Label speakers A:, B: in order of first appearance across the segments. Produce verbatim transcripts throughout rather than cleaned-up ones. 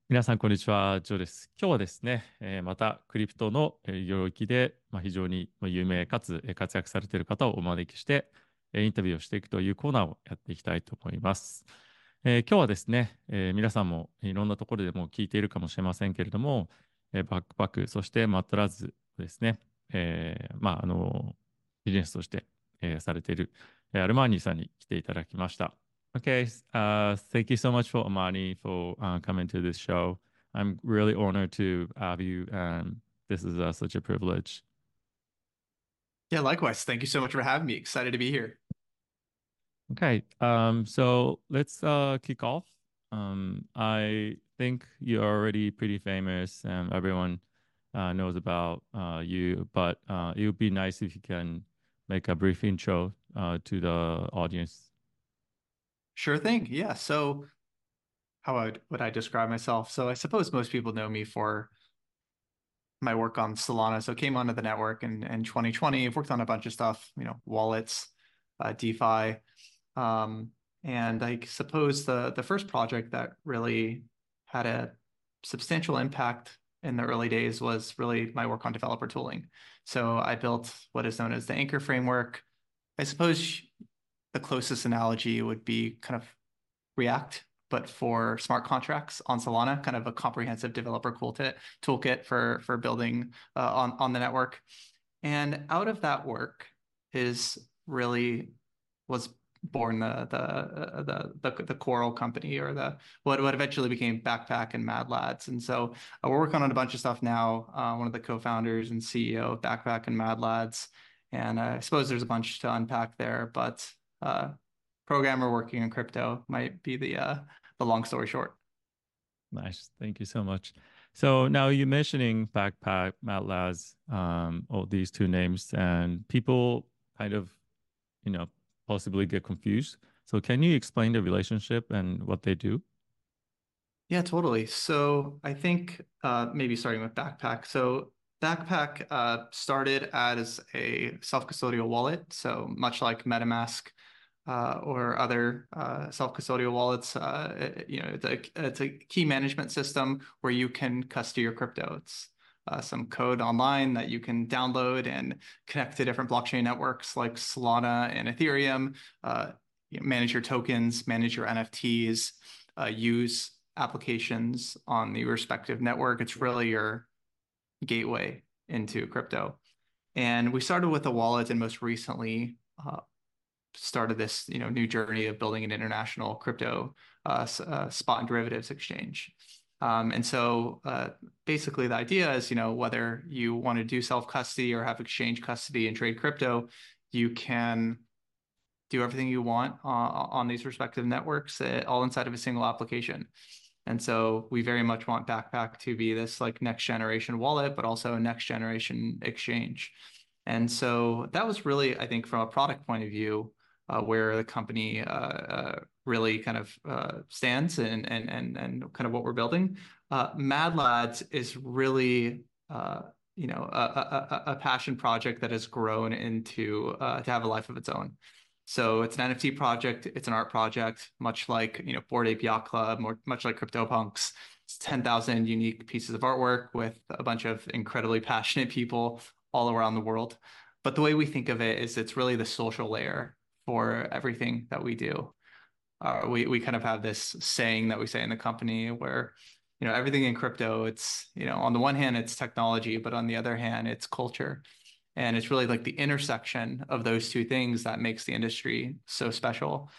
A: 皆さん、こんにちは。ジョーです。今日はですね、えーまたクリプトのえー領域で、まあ、非常にまあ有名かつえー活躍されている方をお招きして、えーインタビューをしていくというコーナーをやっていきたいと思います。えー今日はですね、えー皆さんもいろんなところでもう聞いているかもしれませんけれども、えーバックパック、そしてマットラズですね、えーまあ、あの、ビジネスとして、えーされている、えーアルマーニさんに来ていただきました。Okay, uh, thank you so much for Amani for uh, coming to this show. I'm really honored to have you, and this is uh, such a privilege.
B: Yeah, likewise. Thank you so much for having me. Excited to be here.
A: Okay, um, so let's uh, kick off. Um, I think you're already pretty famous, and everyone uh, knows about uh, you, but uh, it would be nice if you can make a brief intro uh, to the audience.
B: Sure thing. Yeah. So, how would, would I describe myself? So, I suppose most people know me for my work on Solana. So, I came onto the network in, in twenty twenty. I've worked on a bunch of stuff, you know, wallets, uh, DeFi. Um, and I suppose the the first project that really had a substantial impact in the early days was really my work on developer tooling. So, I built what is known as the Anchor framework. I suppose the closest analogy would be kind of React, but for smart contracts on Solana, kind of a comprehensive developer toolkit toolkit for for building uh, on on the network. And out of that work is really was born the the uh, the the, the Coral company or the what what eventually became Backpack and Mad Lads. And so uh, we're working on a bunch of stuff now. Uh, one of the co-founders and C E O of Backpack and Mad Lads, and uh, I suppose there's a bunch to unpack there, but uh, programmer working in crypto might be the uh, the long story short.
A: Nice. Thank you so much. So now you're mentioning Backpack, MATLAS, um, all these two names, and people kind of, you know, possibly get confused. So can you explain the relationship and what they do?
B: Yeah, totally. So I think uh, maybe starting with Backpack. So Backpack uh, started as a self-custodial wallet. So much like MetaMask uh, or other uh, self-custodial wallets, uh, it- you know, it's a, it's a key management system where you can custody your crypto. It's uh, some code online that you can download and connect to different blockchain networks like Solana and Ethereum. Uh, you know, manage your tokens, manage your N F Ts, uh, use applications on the respective network. It's really your gateway into crypto. And we started with a wallet, and most recently uh, started this, you know, new journey of building an international crypto uh, uh, spot and derivatives exchange. Um, and so uh, basically the idea is, you know, whether you want to do self-custody or have exchange custody and trade crypto, you can do everything you want uh, on these respective networks, uh, all inside of a single application. And so we very much want Backpack to be this like next generation wallet, but also a next generation exchange. And so that was really, I think, from a product point of view, uh, where the company uh, uh, really kind of uh, stands and and and and kind of what we're building. Uh, Mad Lads is really uh, you know a, a, a passion project that has grown into uh, to have a life of its own. So it's an N F T project, it's an art project, much like, you know, Bored Ape Yacht Club, more much like CryptoPunks. It's ten thousand unique pieces of artwork with a bunch of incredibly passionate people all around the world. But the way we think of it is it's really the social layer for everything that we do. Uh, we we kind of have this saying that we say in the company where, you know, everything in crypto, it's, you know, on the one hand, it's technology, but on the other hand, it's culture. And it's really like the intersection of those two things that makes the industry so special.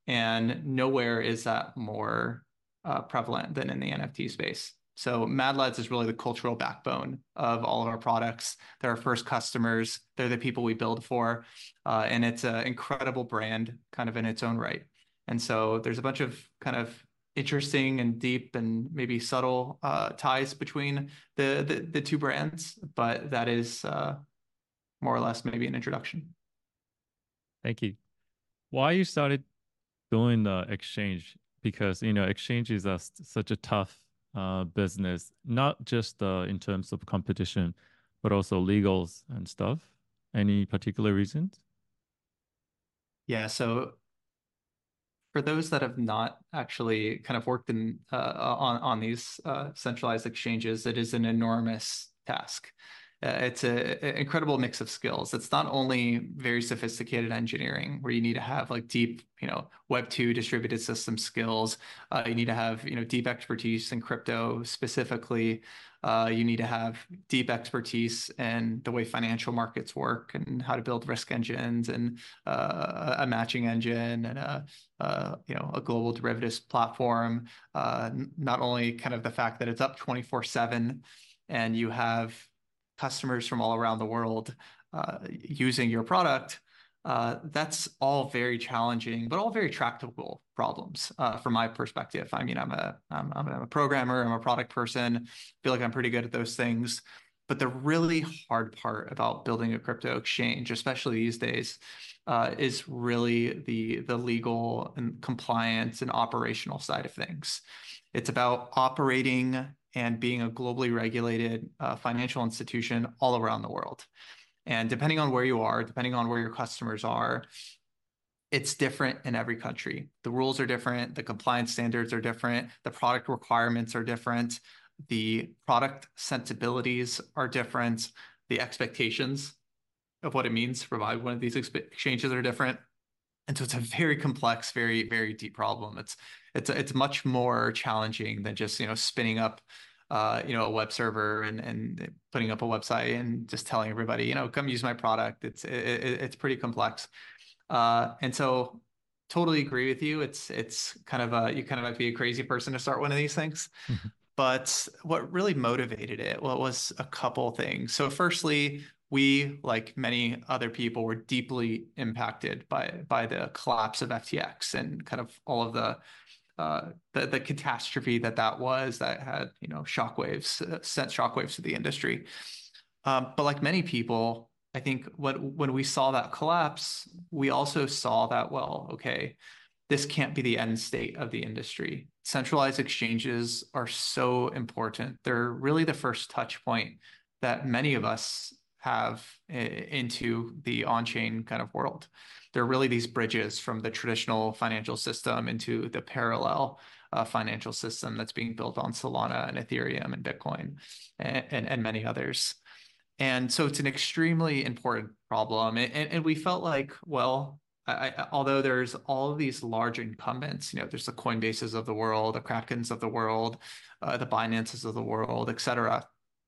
B: And nowhere is that more uh, prevalent than in the N F T space. So Mad Lads is really the cultural backbone of all of our products. They're our first customers. They're the people we build for. Uh, and it's an incredible brand kind of in its own right. And so there's a bunch of kind of interesting and deep and maybe subtle uh, ties between the, the the two brands, but that is uh, more or less maybe an introduction.
A: Thank you. Why you started doing the exchange? Because, you know, exchange is a, such a tough uh, business, not just uh, in terms of competition, but also legals and stuff. Any particular reasons?
B: Yeah, so For those that have not actually kind of worked in uh, on on these uh, centralized exchanges, it is an enormous task. Uh, it's an incredible mix of skills. It's not only very sophisticated engineering where you need to have like deep, you know, Web two distributed system skills. Uh, you need to have, you know, deep expertise in crypto specifically. Uh, you need to have deep expertise in the way financial markets work and how to build risk engines and uh, a matching engine and a, uh, you know, a global derivatives platform. Uh, not only kind of the fact that it's up twenty-four seven and you have customers from all around the world uh, using your product, uh, that's all very challenging, but all very tractable problems uh, from my perspective. I mean, I'm a, I'm, I'm a programmer, I'm a product person, feel like I'm pretty good at those things. But the really hard part about building a crypto exchange, especially these days, uh, is really the, the legal and compliance and operational side of things. It's about operating and being a globally regulated uh, financial institution all around the world. And depending on where you are, depending on where your customers are, it's different in every country. The rules are different, the compliance standards are different, the product requirements are different, the product sensibilities are different, the expectations of what it means to provide one of these exchanges are different. And so it's a very complex, very, very deep problem. It's it's it's much more challenging than just, you know, spinning up uh, you know, a web server and and putting up a website and just telling everybody, you know, come use my product. It's it, it's pretty complex. Uh, and so totally agree with you. It's it's kind of a you kind of have to be a crazy person to start one of these things.
A: Mhm.
B: But what really motivated it, well, it was a couple things. So firstly, we, like many other people, were deeply impacted by by the collapse of F T X and kind of all of the uh, the the catastrophe that that was that had, you know, shockwaves uh, sent shockwaves to the industry. Um, but like many people, I think when when we saw that collapse, we also saw that, well, okay, this can't be the end state of the industry. Centralized exchanges are so important. They're really the first touch point that many of us have into the on-chain kind of world. They're really these bridges from the traditional financial system into the parallel uh, financial system that's being built on Solana and Ethereum and Bitcoin and, and, and many others. And so it's an extremely important problem. And, and we felt like, well, I, I, although there's all of these large incumbents, you know, there's the Coinbases of the world, the Krakens of the world, uh, the Binances of the world, et cetera.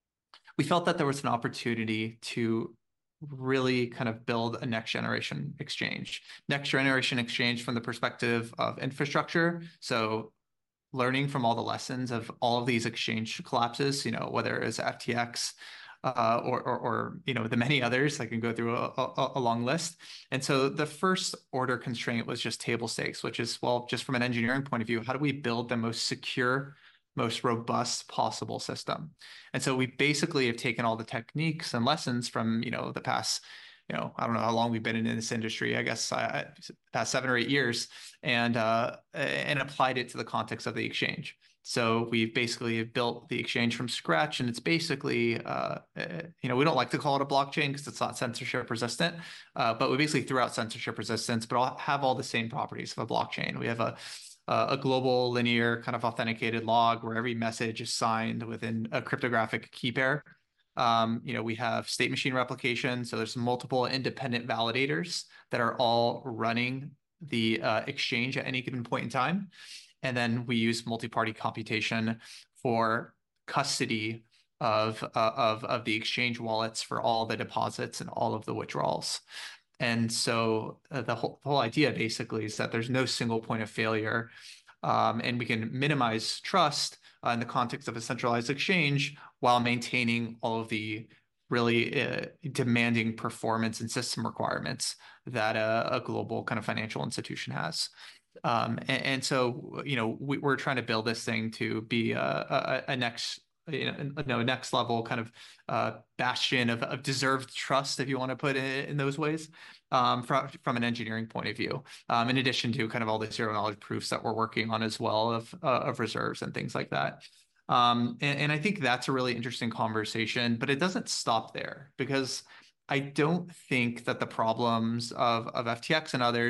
B: We felt that there was an opportunity to really kind of build a next generation exchange. Next generation exchange from the perspective of infrastructure. So learning from all the lessons of all of these exchange collapses, you know, whether it's F T X, uh, or, or, or, you know, the many others. I can go through a, a, a long list. And so the first order constraint was just table stakes, which is, well, just from an engineering point of view, how do we build the most secure, most robust possible system? And so we basically have taken all the techniques and lessons from, you know, the past, you know, I don't know how long we've been in this industry, I guess uh, past seven or eight years, and uh, and applied it to the context of the exchange. So we've basically built the exchange from scratch, and it's basically, uh, you know, we don't like to call it a blockchain because it's not censorship resistant, uh, but we basically threw out censorship resistance, but all, have all the same properties of a blockchain. We have a a global linear kind of authenticated log where every message is signed within a cryptographic key pair. Um, you know, we have state machine replication. So there's multiple independent validators that are all running the uh, exchange at any given point in time. And then we use multi-party computation for custody of, uh, of, of the exchange wallets for all the deposits and all of the withdrawals. And so uh, the, whole, the whole idea basically is that there's no single point of failure, um, and we can minimize trust uh, in the context of a centralized exchange while maintaining all of the really uh, demanding performance and system requirements that a, a global kind of financial institution has. Um, and, and so, you know, we, we're trying to build this thing to be a, a, a next, you know, next level kind of uh, bastion of, of deserved trust, if you want to put it in those ways, um, from, from an engineering point of view, um, in addition to kind of all the zero knowledge proofs that we're working on as well of, uh, of reserves and things like that. Um, and, and I think that's a really interesting conversation, but it doesn't stop there because I don't think that the problems of, of F T X and others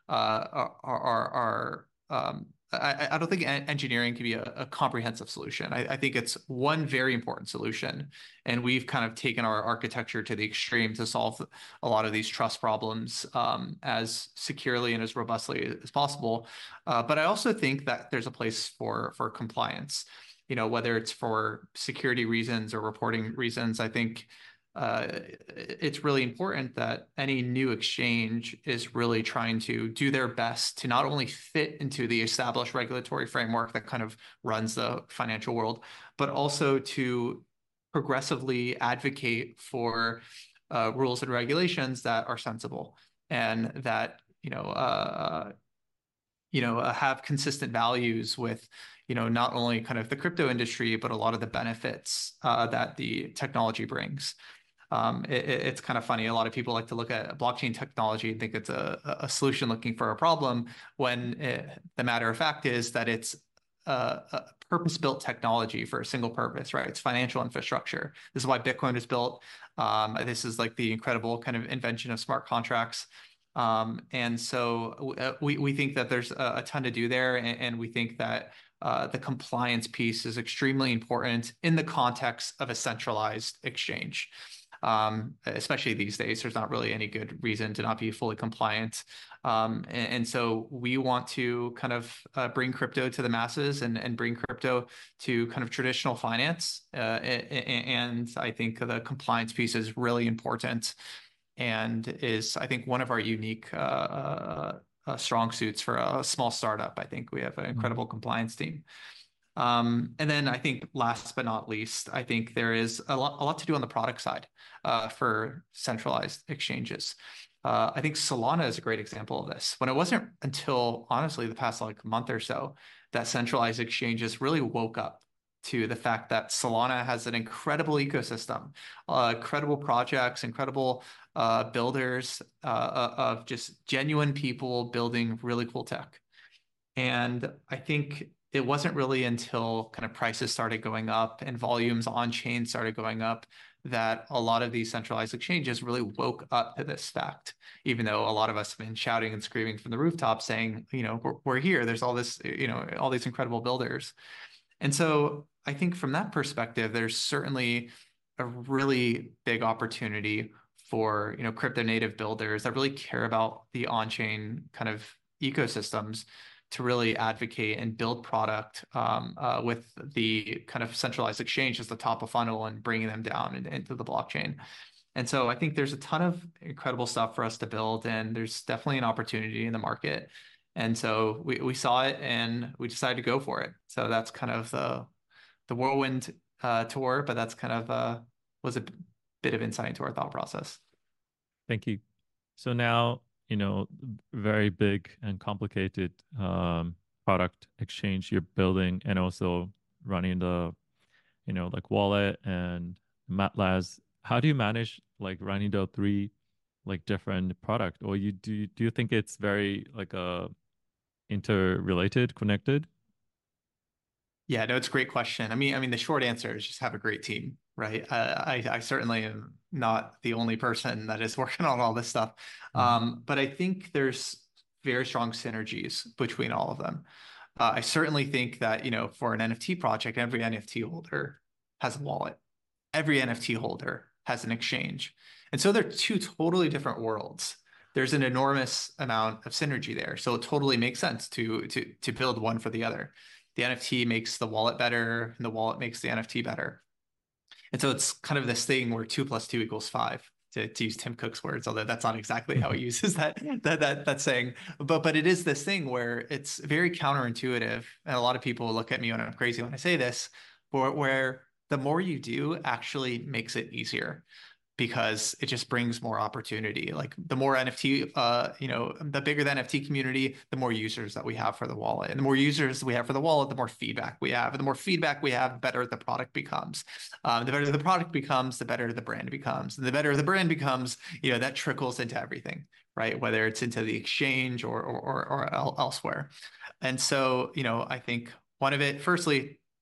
B: uh, are are, are um, I, I don't think engineering can be a, a comprehensive solution. I, I think it's one very important solution, and we've kind of taken our architecture to the extreme to solve a lot of these trust problems um, as securely and as robustly as possible. Uh, but I also think that there's a place for for compliance. You know, whether it's for security reasons or reporting reasons, I think uh, it's really important that any new exchange is really trying to do their best to not only fit into the established regulatory framework that kind of runs the financial world, but also to progressively advocate for uh, rules and regulations that are sensible and that, you know, uh, you know, uh, have consistent values with, you know, not only kind of the crypto industry, but a lot of the benefits uh, that the technology brings. Um, it, it's kind of funny. A lot of people like to look at blockchain technology and think it's a, a solution looking for a problem, when it, the matter of fact is that it's a, a purpose-built technology for a single purpose, right? It's financial infrastructure. This is why Bitcoin is built. Um, this is like the incredible kind of invention of smart contracts. Um, and so uh, we, we think that there's a, a ton to do there, and, and we think that uh, the compliance piece is extremely important in the context of a centralized exchange. Um, especially these days, there's not really any good reason to not be fully compliant. Um, and, and so we want to kind of uh, bring crypto to the masses and, and bring crypto to kind of traditional finance. Uh, and I think the compliance piece is really important and is, I think, one of our unique uh, uh, uh, strong suits for a small startup. I think we have an
A: Mhm.
B: incredible compliance team. Um, and then I think last but not least, I think there is a lot, a lot to do on the product side uh, for centralized exchanges. Uh, I think Solana is a great example of this. When it wasn't until honestly the past like month or so that centralized exchanges really woke up to the fact that Solana has an incredible ecosystem, uh, incredible projects, incredible uh, builders uh, of just genuine people building really cool tech. And I think it wasn't really until kind of prices started going up and volumes on chain started going up that a lot of these centralized exchanges really woke up to this fact, even though a lot of us have been shouting and screaming from the rooftop saying, you know, we're, we're here. There's all this, you know, all these incredible builders. And so I think from that perspective, there's certainly a really big opportunity for, you know, crypto native builders that really care about the on-chain kind of ecosystems to really advocate and build product um, uh, with the kind of centralized exchange as the top of funnel and bringing them down and, into the blockchain. And so I think there's a ton of incredible stuff for us to build, and there's definitely an opportunity in the market. And so we, we saw it and we decided to go for it. So that's kind of the the whirlwind uh, tour, but that's kind of uh, was a bit of insight into our thought process.
A: Thank you. So now, you know, very big and complicated um, product exchange you're building and also running the, you know, like wallet and MATLAS. How do you manage like running the three like different product, or you do do you think it's very like uh interrelated, connected?
B: Yeah, no, it's a great question. I mean, I mean, the short answer is just have a great team, right? I, I, I certainly am not the only person that is working on all this stuff,
A: Mhm.
B: um, but I think there's very strong synergies between all of them. Uh, I certainly think that, you know, for an N F T project, every N F T holder has a wallet. Every N F T holder has an exchange. And so they're two totally different worlds. There's an enormous amount of synergy there. So it totally makes sense to to to build one for the other. The N F T makes the wallet better, and the wallet makes the N F T better. And so it's kind of this thing where two plus two equals five. To, to use Tim Cook's words, although that's not exactly how he uses that that that that saying, but but it is this thing where it's very counterintuitive, and a lot of people look at me when I'm crazy when I say this, where, where the more you do actually makes it easier because it just brings more opportunity. Like the more N F T, uh, you know, the bigger the N F T community, the more users that we have for the wallet. And the more users we have for the wallet, the more feedback we have. And the more feedback we have, the better the product becomes. Um, the better the product becomes, the better the brand becomes. And the better the brand becomes, you know, that trickles into everything, right? Whether it's into the exchange or or, or, or elsewhere. And so, you know, I think one of it, firstly,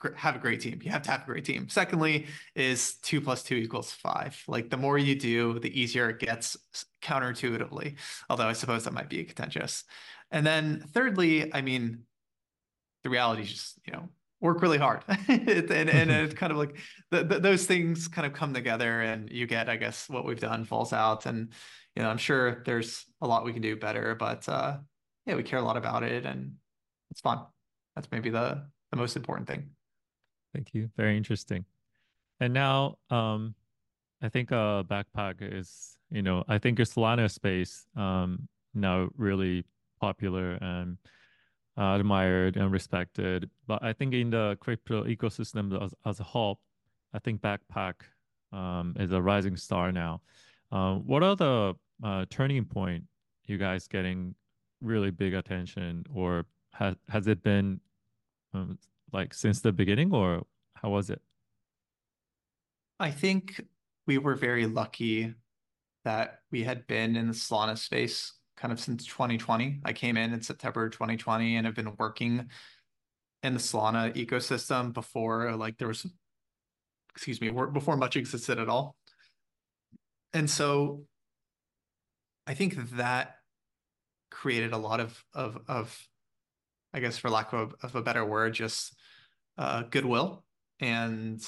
B: have a great team. You have to have a great team. Secondly, is two plus two equals five. Like the more you do, the easier it gets counterintuitively. Although I suppose that might be contentious. And then thirdly, I mean, the reality is just, you know, work really hard. and, and it's kind of like the, the, those things kind of come together and you get, I guess, what we've done falls out. And, you know, I'm sure there's a lot we can do better, but uh, yeah, we care a lot about it and it's fun. That's maybe the, the most important thing.
A: Thank you. Very interesting. And now, um, I think uh, Backpack is, you know, I think your Solana space um, now really popular and uh, admired and respected. But I think in the crypto ecosystem as, as a whole, I think Backpack um, is a rising star now. Uh, what are the uh, turning point you guys getting really big attention, or has has it been um, like since the beginning, or how was it?
B: I think we were very lucky that we had been in the Solana space kind of since twenty twenty. I came in in September twenty twenty and have been working in the Solana ecosystem before like there was, excuse me, before much existed at all. And so I think that created a lot of of of I guess for lack of, of a better word, just uh, goodwill and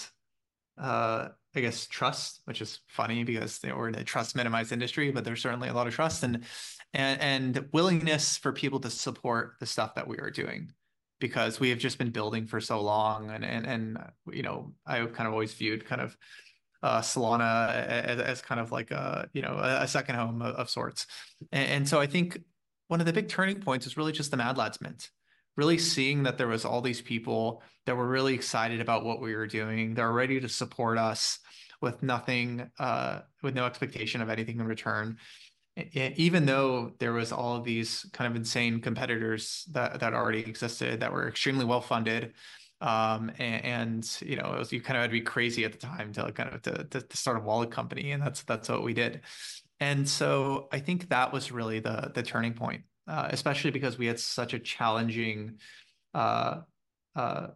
B: uh, I guess trust, which is funny because they were in a trust minimized industry, but there's certainly a lot of trust and and and willingness for people to support the stuff that we are doing because we have just been building for so long and and and you know I kind of always viewed kind of uh, Solana as, as kind of like a you know a second home of, of sorts, and, and so I think one of the big turning points is really just the Mad Lads Mint. Really seeing that there was all these people that were really excited about what we were doing. They're ready to support us with nothing, uh, with no expectation of anything in return. Even though there was all of these kind of insane competitors that that already existed that were extremely well funded, um, and, and you know, it was, you kind of had to be crazy at the time to kind of to, to, to start a wallet company, and that's that's what we did. And so I think that was really the the turning point, uh, especially because we had such a challenging uh, uh,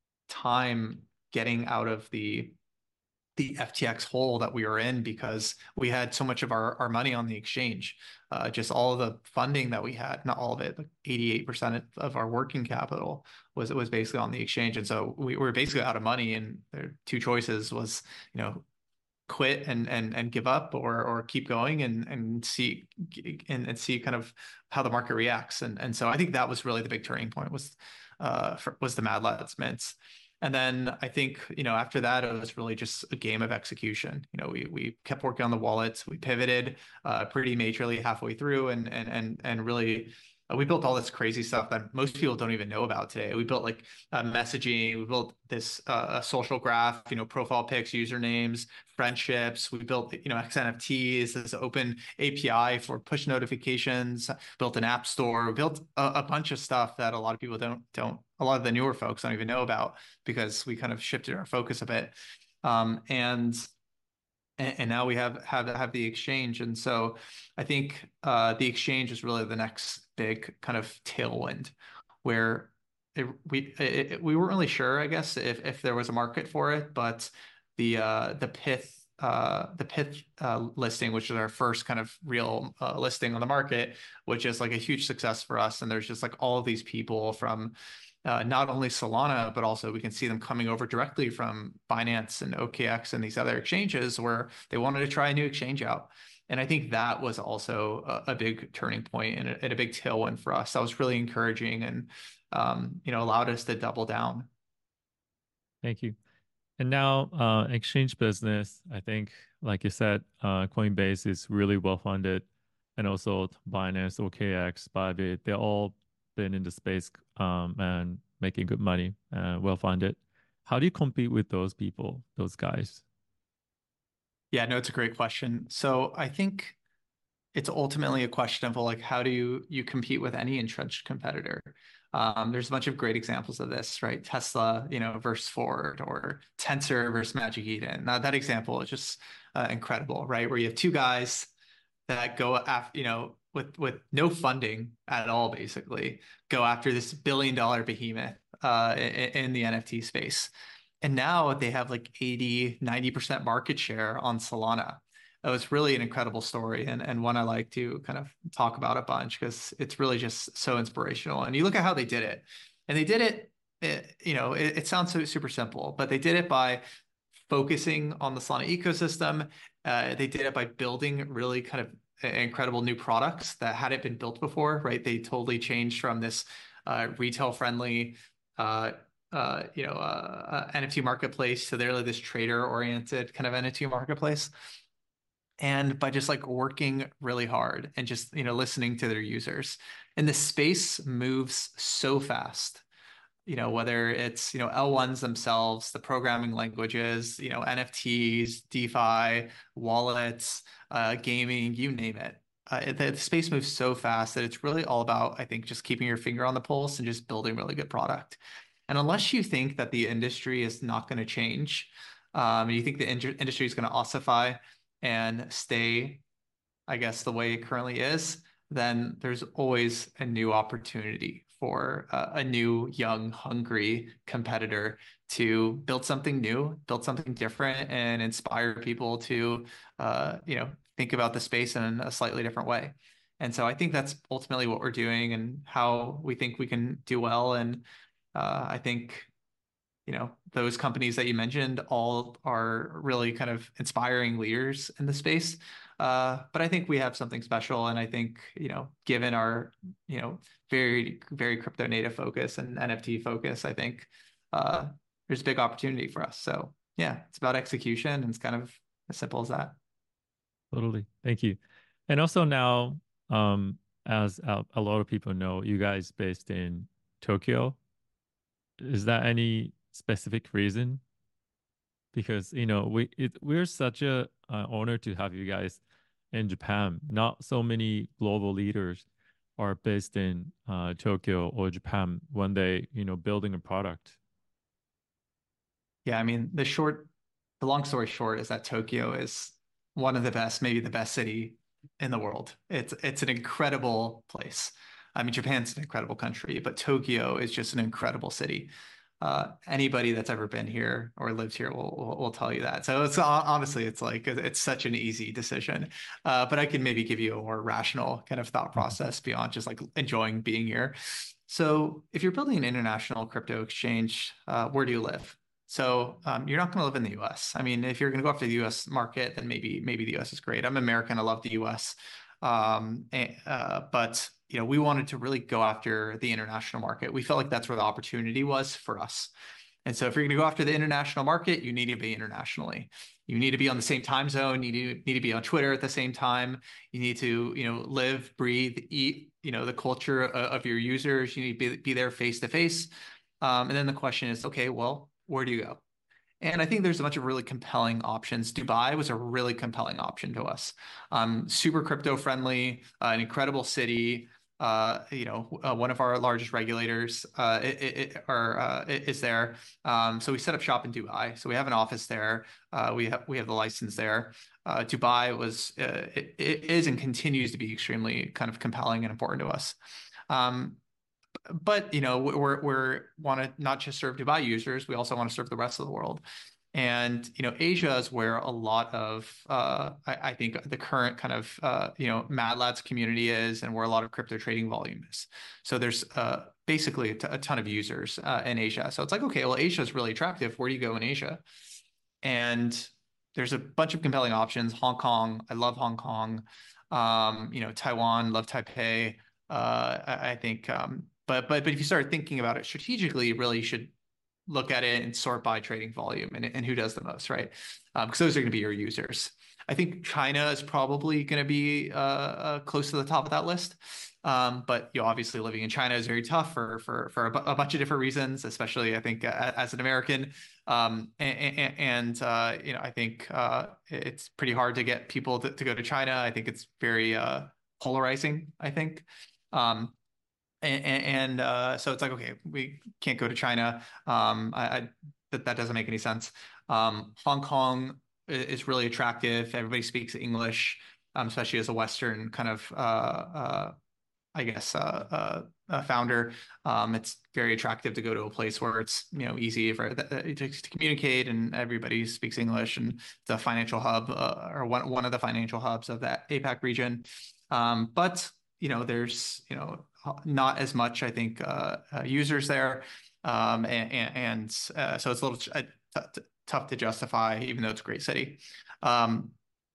B: time getting out of the the F T X hole that we were in because we had so much of our, our money on the exchange. Uh, just all of the funding that we had, not all of it, like eighty-eight percent of our working capital was was basically on the exchange. And so we were basically out of money. And there two choices was, you know, quit and and and give up or or keep going and and see and, and see kind of how the market reacts. And and so I think that was really the big turning point was uh for, was the Mad Lads Mints. And then I think, you know, after that, it was really just a game of execution. You know, we we kept working on the wallets. We pivoted uh, pretty majorly halfway through, and and and and really, uh, we built all this crazy stuff that most people don't even know about today. We built like uh, messaging. We built this uh, social graph. You know, profile pics, usernames, friendships. We built, you know, X N F Ts, this open A P I for push notifications. Built an app store. We built a, a bunch of stuff that a lot of people don't don't. A lot of the newer folks don't even know about because we kind of shifted our focus a bit. Um, and, and now we have, have, have the exchange. And so I think uh, the exchange is really the next big kind of tailwind where it, we, it, we weren't really sure, I guess, if, if there was a market for it, but the, uh, the Pyth uh the Pyth uh, listing, which is our first kind of real uh, listing on the market, which is like a huge success for us. And there's just like all of these people from uh, not only Solana, but also we can see them coming over directly from Binance and O K X and these other exchanges where they wanted to try a new exchange out. And I think that was also a, a big turning point and a, and a big tailwind for us. That was really encouraging and, um, you know, allowed us to double down.
A: Thank you. And now, uh, exchange business, I think, like you said, uh, Coinbase is really well funded, and also Binance, O K X, Bybit, they're all been in the space um, and making good money, uh, well funded. How do you compete with those people, those guys?
B: Yeah, no, it's a great question. So I think it's ultimately a question of well, like how do you you compete with any entrenched competitor? Um, there's a bunch of great examples of this, right? Tesla, you know, versus Ford, or Tensor versus Magic Eden. Now that example is just uh, incredible, right? Where you have two guys that go after, you know, with with no funding at all, basically go after this billion dollar behemoth, uh, in, in the N F T space. And now they have like eighty, ninety percent market share on Solana. It was really an incredible story and, and one I like to kind of talk about a bunch because it's really just so inspirational. And you look at how they did it, and they did it, it you know, it, it sounds so super simple, but they did it by focusing on the Solana ecosystem. Uh, they did it by building really kind of incredible new products that hadn't been built before, right? They totally changed from this uh, retail friendly uh, uh, you know, uh, uh, N F T marketplace to they're like this trader oriented kind of N F T marketplace. And by just like working really hard and just, you know, listening to their users. And the space moves so fast, you know, whether it's, you know, L ones themselves, the programming languages, you know, N F Ts, DeFi, wallets, uh, gaming, you name it. Uh, the, the space moves so fast that it's really all about, I think, just keeping your finger on the pulse and just building really good product. And unless you think that the industry is not going to change, um, you think the in industry is going to ossify and stay, I guess, the way it currently is, then there's always a new opportunity for uh, a new, young, hungry competitor to build something new, build something different, and inspire people to, uh, you know, think about the space in a slightly different way. And so I think that's ultimately what we're doing and how we think we can do well. And uh, I think you know, those companies that you mentioned all are really kind of inspiring leaders in the space. Uh, but I think we have something special. And I think, you know, given our, you know, very, very crypto native focus and N F T focus, I think uh, there's a big opportunity for us. So yeah, it's about execution and it's kind of as simple as that.
A: Totally. Thank you. And also now, um, as a, a lot of people know, you guys based in Tokyo. Is that any specific reason? Because, you know, we it, we're such a uh, honor to have you guys in Japan. Not so many global leaders are based in uh, Tokyo or Japan when they, you know, building a product.
B: Yeah, I mean, the short, the long story short is that Tokyo is one of the best, maybe the best city in the world. It's it's an incredible place. I mean, Japan's an incredible country, but Tokyo is just an incredible city. Uh, anybody that's ever been here or lived here will, will will tell you that. So it's honestly, it's like it's such an easy decision. Uh, but I can maybe give you a more rational kind of thought
A: Mhm.
B: process beyond just like enjoying being here. So if you're building an international crypto exchange, uh, where do you live? So um, you're not going to live in the U S. I mean, if you're going to go after the U S market, then maybe maybe the U S is great. I'm American. I love the U S. Um, and, uh, but you know, we wanted to really go after the international market. We felt like that's where the opportunity was for us. And so if you're going to go after the international market, you need to be internationally. You need to be on the same time zone. You need, need to be on Twitter at the same time. You need to, you know, live, breathe, eat, you know, the culture of, of your users. You need to be, be there face to face. Um, and then the question is, okay, well, where do you go? And I think there's a bunch of really compelling options. Dubai was a really compelling option to us. Um, super crypto friendly, uh, an incredible city. Uh, you know, uh, one of our largest regulators uh, it, it, are, uh, is there. Um, so we set up shop in Dubai. So we have an office there. Uh, we have we have the license there. Uh, Dubai was uh, it, it is and continues to be extremely kind of compelling and important to us. Um, but you know we're we're want to not just serve Dubai users, we also want to serve the rest of the world. And you know Asia is where a lot of uh, I, I think the current kind of uh, you know Mad Lads community is, and where a lot of crypto trading volume is. So there's uh, basically a, a ton of users uh, in Asia. So it's like, okay, well, Asia is really attractive. Where do you go in Asia? And there's a bunch of compelling options. Hong Kong, I love Hong Kong. Um, you know, Taiwan, love Taipei. Uh, I, I think, um, but but but if you start thinking about it strategically, you really should look at it and sort by trading volume and, and who does the most, right? Um, because those are going to be your users. I think China is probably going to be uh, uh, close to the top of that list. Um, but you know, obviously living in China is very tough for for for a, bu- a bunch of different reasons, especially I think uh, as an American. Um, and, and uh, you know, I think uh, it's pretty hard to get people to, to go to China. I think it's very uh, polarizing, I think. Um, and, and uh, so it's like, okay, we can't go to China. Um, I, I that that doesn't make any sense. Um, Hong Kong is really attractive. Everybody speaks English, um, especially as a Western kind of, uh, uh, I guess, uh, uh, uh, founder. Um, it's very attractive to go to a place where it's, you know, easy for uh, to, to communicate and everybody speaks English, and the financial hub uh, or one one of the financial hubs of that APAC region. Um, but you know, there's you know not as much, I think, uh, uh, users there, um, and, and uh, so it's a little uh, tough to justify, even though it's a great city. Um,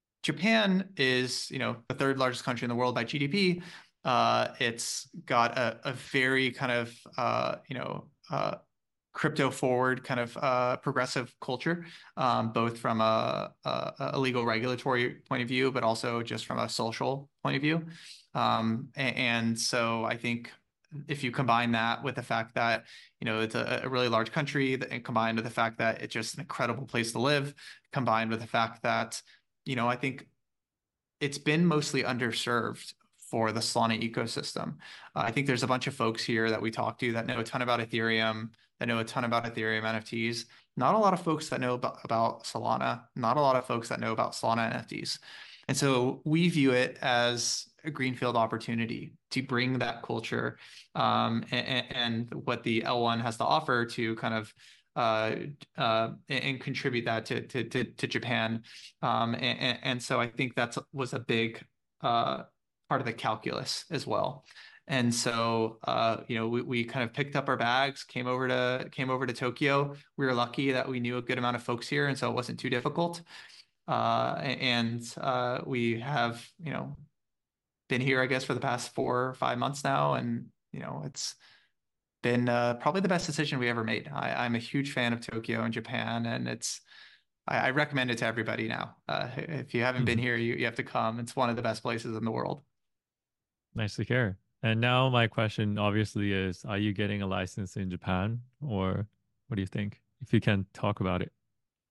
B: Japan is, you know, the third largest country in the world by G D P. Uh, it's got a, a very kind of, uh, you know, uh, crypto forward kind of uh, progressive culture, um, both from a, a, a legal regulatory point of view, but also just from a social point of view. Um, and, and so I think if you combine that with the fact that, you know, it's a, a really large country, and combined with the fact that it's just an incredible place to live, combined with the fact that, you know, I think it's been mostly underserved for the Solana ecosystem. Uh, I think there's a bunch of folks here that we talk to that know a ton about Ethereum, that know a ton about Ethereum N F Ts. Not a lot of folks that know about, about Solana, not a lot of folks that know about Solana N F Ts. And so we view it as a greenfield opportunity to bring that culture um, and, and what the L one has to offer to kind of uh, uh, and contribute that to to to, to Japan. Um, and, and so I think that was a big uh, part of the calculus as well. And so, uh, you know, we, we kind of picked up our bags, came over to came over to Tokyo. We were lucky that we knew a good amount of folks here, and so it wasn't too difficult. Uh, and uh, we have, you know, been here, I guess, for the past four or five months now, and you know, it's been uh, probably the best decision we ever made. I, I'm a huge fan of Tokyo and Japan, and it's I, I recommend it to everybody now. Uh, if you haven't been
A: Mhm.
B: here, you, you have to come. It's one of the best places in the world.
A: Nice to hear. And now my question obviously is, are you getting a license in Japan, or what do you think? If you can talk about it.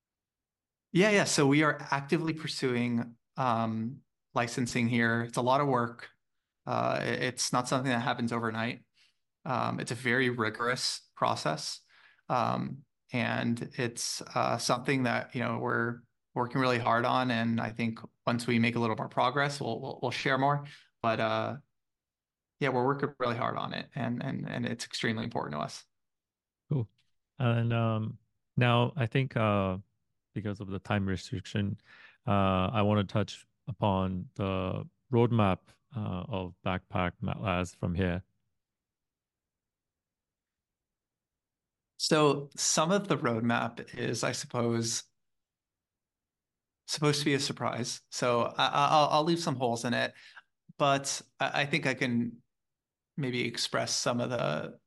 B: Yeah, yeah. So we are actively pursuing um, licensing here. It's a lot of work. Uh, it- it's not something that happens overnight. Um, it's a very rigorous process. Um, and it's uh, something that, you know, we're working really hard on. And I think once we make a little more progress, we'll we'll, we'll share more. But uh, yeah, we're working really hard on it, and and and it's extremely important to us.
A: Cool. And um, now I think uh, because of the time restriction, uh, I want to touch upon the roadmap uh, of Backpack MATLAS from here.
B: So some of the roadmap is, I suppose, supposed to be a surprise. So I, I'll I'll leave some holes in it, but I, I think I can maybe express some of the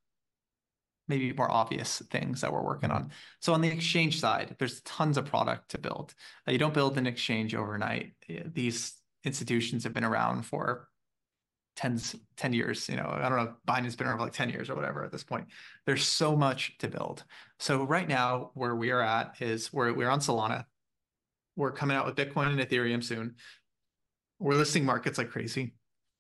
B: maybe more obvious things that we're working
A: Mhm.
B: on. So on the exchange side, there's tons of product to build. Uh, you don't build an exchange overnight. These institutions have been around for tens, ten years. You know, I don't know, Binance been around for like ten years or whatever at this point. There's so much to build. So right now, where we are at is we're, we're on Solana. We're coming out with Bitcoin and Ethereum soon. We're listing markets like crazy.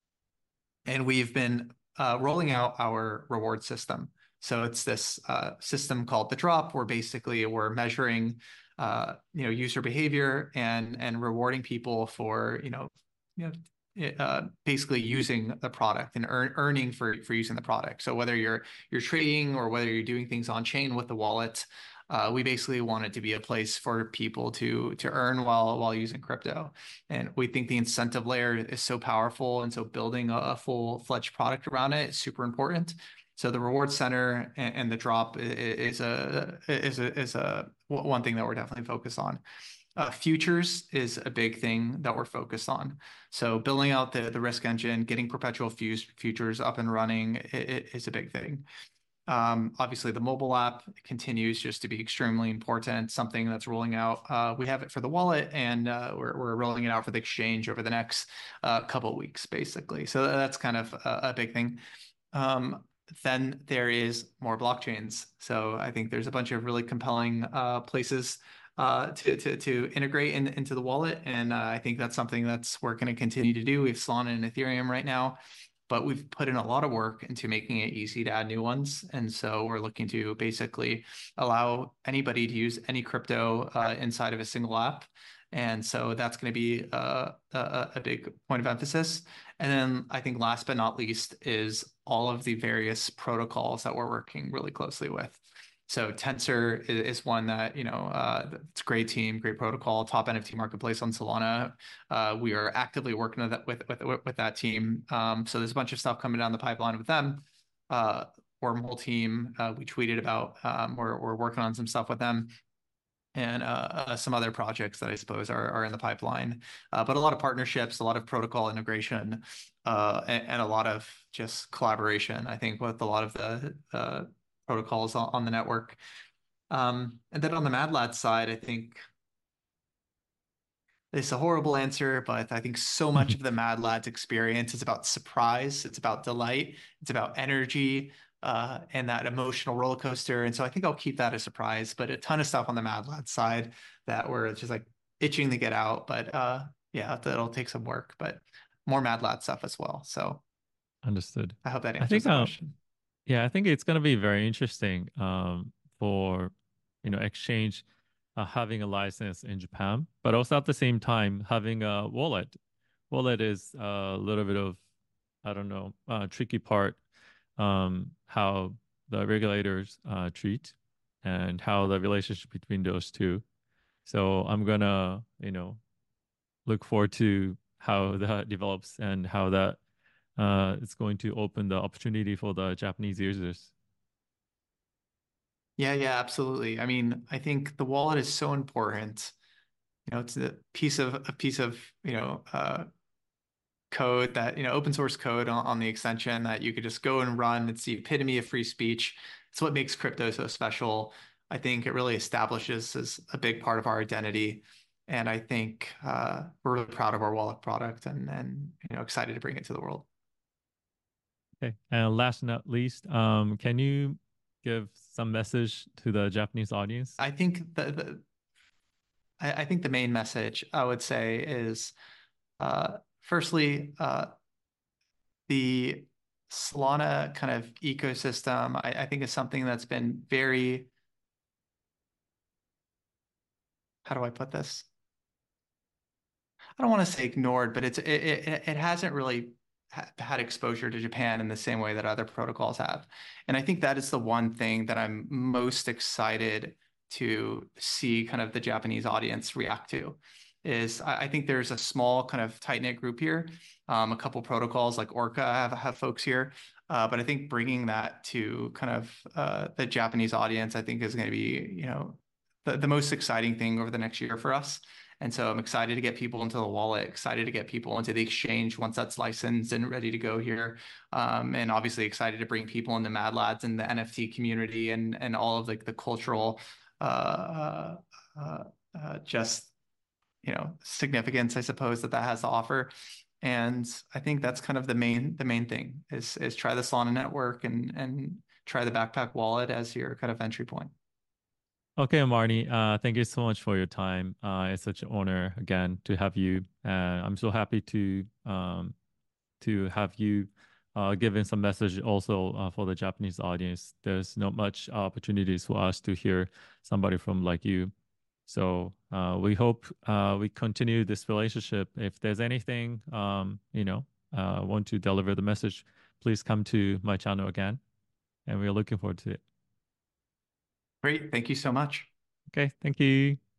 B: And we've been uh, rolling out our reward system. So it's this uh, system called the drop, where basically we're measuring, uh, you know, user behavior and and rewarding people for, you know, you know, uh, basically using the product and earn, earning for for using the product. So whether you're you're trading or whether you're doing things on chain with the wallet, uh, we basically want it to be a place for people to to earn while while using crypto. And we think the incentive layer is so powerful, and so building a, a full-fledged product around it is super important. So the reward center and, and the drop is a is a is a one thing that we're definitely focused on. Uh, futures is a big thing that we're focused on. So building out the the risk engine, getting perpetual fuse futures up and running it, it is a big thing. Um, obviously, the mobile app continues just to be extremely important, something that's rolling out. Uh, we have it for the wallet, and uh, we're, we're rolling it out for the exchange over the next uh, couple of weeks, basically. So that's kind of a, a big thing. Um, then there is more blockchains. So I think there's a bunch of really compelling uh, places uh, to, to, to integrate in, into the wallet. And uh, I think that's something that's we're going to continue to do. We have Solana and Ethereum right now, but we've put in a lot of work into making it easy to add new ones. And so we're looking to basically allow anybody to use any crypto uh, inside of a single app. And so that's going to be uh, a, a big point of emphasis. And then I think last but not least is all of the various protocols that we're working really closely with. So Tensor is, is one that, you know, uh, it's a great team, great protocol, top N F T marketplace on Solana. Uh, we are actively working with that, with, with, with that team. Um, so there's a bunch of stuff coming down the pipeline with them. Uh, Wormhole team, uh, we tweeted about, um, we're, we're working on some stuff with them and uh, uh, some other projects that I suppose are, are in the pipeline. Uh, but a lot of partnerships, a lot of protocol integration, uh, and, and a lot of just collaboration, I think, with a lot of the uh, protocols on, on the network. Um, and then on the Mad Lad side, I think it's a horrible answer, but I think so much of the Mad Lads experience is about surprise, it's about delight, it's about energy, uh, and that emotional roller coaster. And so I think I'll keep that a surprise, but a ton of stuff on the Mad Lads side that we're just like itching to get out. But uh, yeah, that'll take some work, but more Mad Lad stuff as well. So
A: Understood.
B: I hope that
A: I
B: answers
A: think
B: the
A: uh,
B: question.
A: yeah, I think it's going to be very interesting um, for you know exchange uh, having a license in Japan, but also at the same time having a wallet. Wallet is a little bit of I don't know uh, tricky part um, how the regulators uh, treat and how the relationship between those two. So I'm gonna you know look forward to how that develops and how that uh, it's going to open the opportunity for the Japanese users.
B: Yeah, yeah, absolutely. I mean, I think the wallet is so important. You know, it's a piece of a piece of, you know, uh, code that, you know, open source code on, on the extension that you could just go and run. It's the epitome of free speech. It's what makes crypto so special. I think it really establishes as a big part of our identity. And I think uh, we're really proud of our wallet product and and you know excited to bring it to the world.
A: Okay. And last but not least, um, can you give some message to the Japanese audience?
B: I think the, the I, I think the main message I would say is uh, firstly, uh, the Solana kind of ecosystem, I, I think is something that's been very, how do I put this? I don't want to say ignored, but it's it it, it hasn't really ha had exposure to Japan in the same way that other protocols have. And I think that is the one thing that I'm most excited to see kind of the Japanese audience react to is I, I think there's a small kind of tight-knit group here. Um, a couple protocols like Orca have, have folks here. Uh, but I think bringing that to kind of uh, the Japanese audience, I think is going to be, you know, the, the most exciting thing over the next year for us. And so I'm excited to get people into the wallet, excited to get people into the exchange once that's licensed and ready to go here. Um, and obviously excited to bring people into Mad Lads and the N F T community and and all of like the cultural uh, uh, uh, just you know significance, I suppose, that that has to offer. And I think that's kind of the main the main thing is is try the Solana network and and try the Backpack wallet as your kind of entry point.
A: Okay, Marnie, uh, thank you so much for your time. Uh, it's such an honor again to have you. Uh, I'm so happy to um, to have you uh, given some message also uh, for the Japanese audience. There's not much opportunities for us to hear somebody from like you. So uh, we hope uh, we continue this relationship. If there's anything, um, you know, uh, want to deliver the message, please come to my channel again, and we're looking forward to it.
B: Great. Thank you so much.
A: Okay, thank you.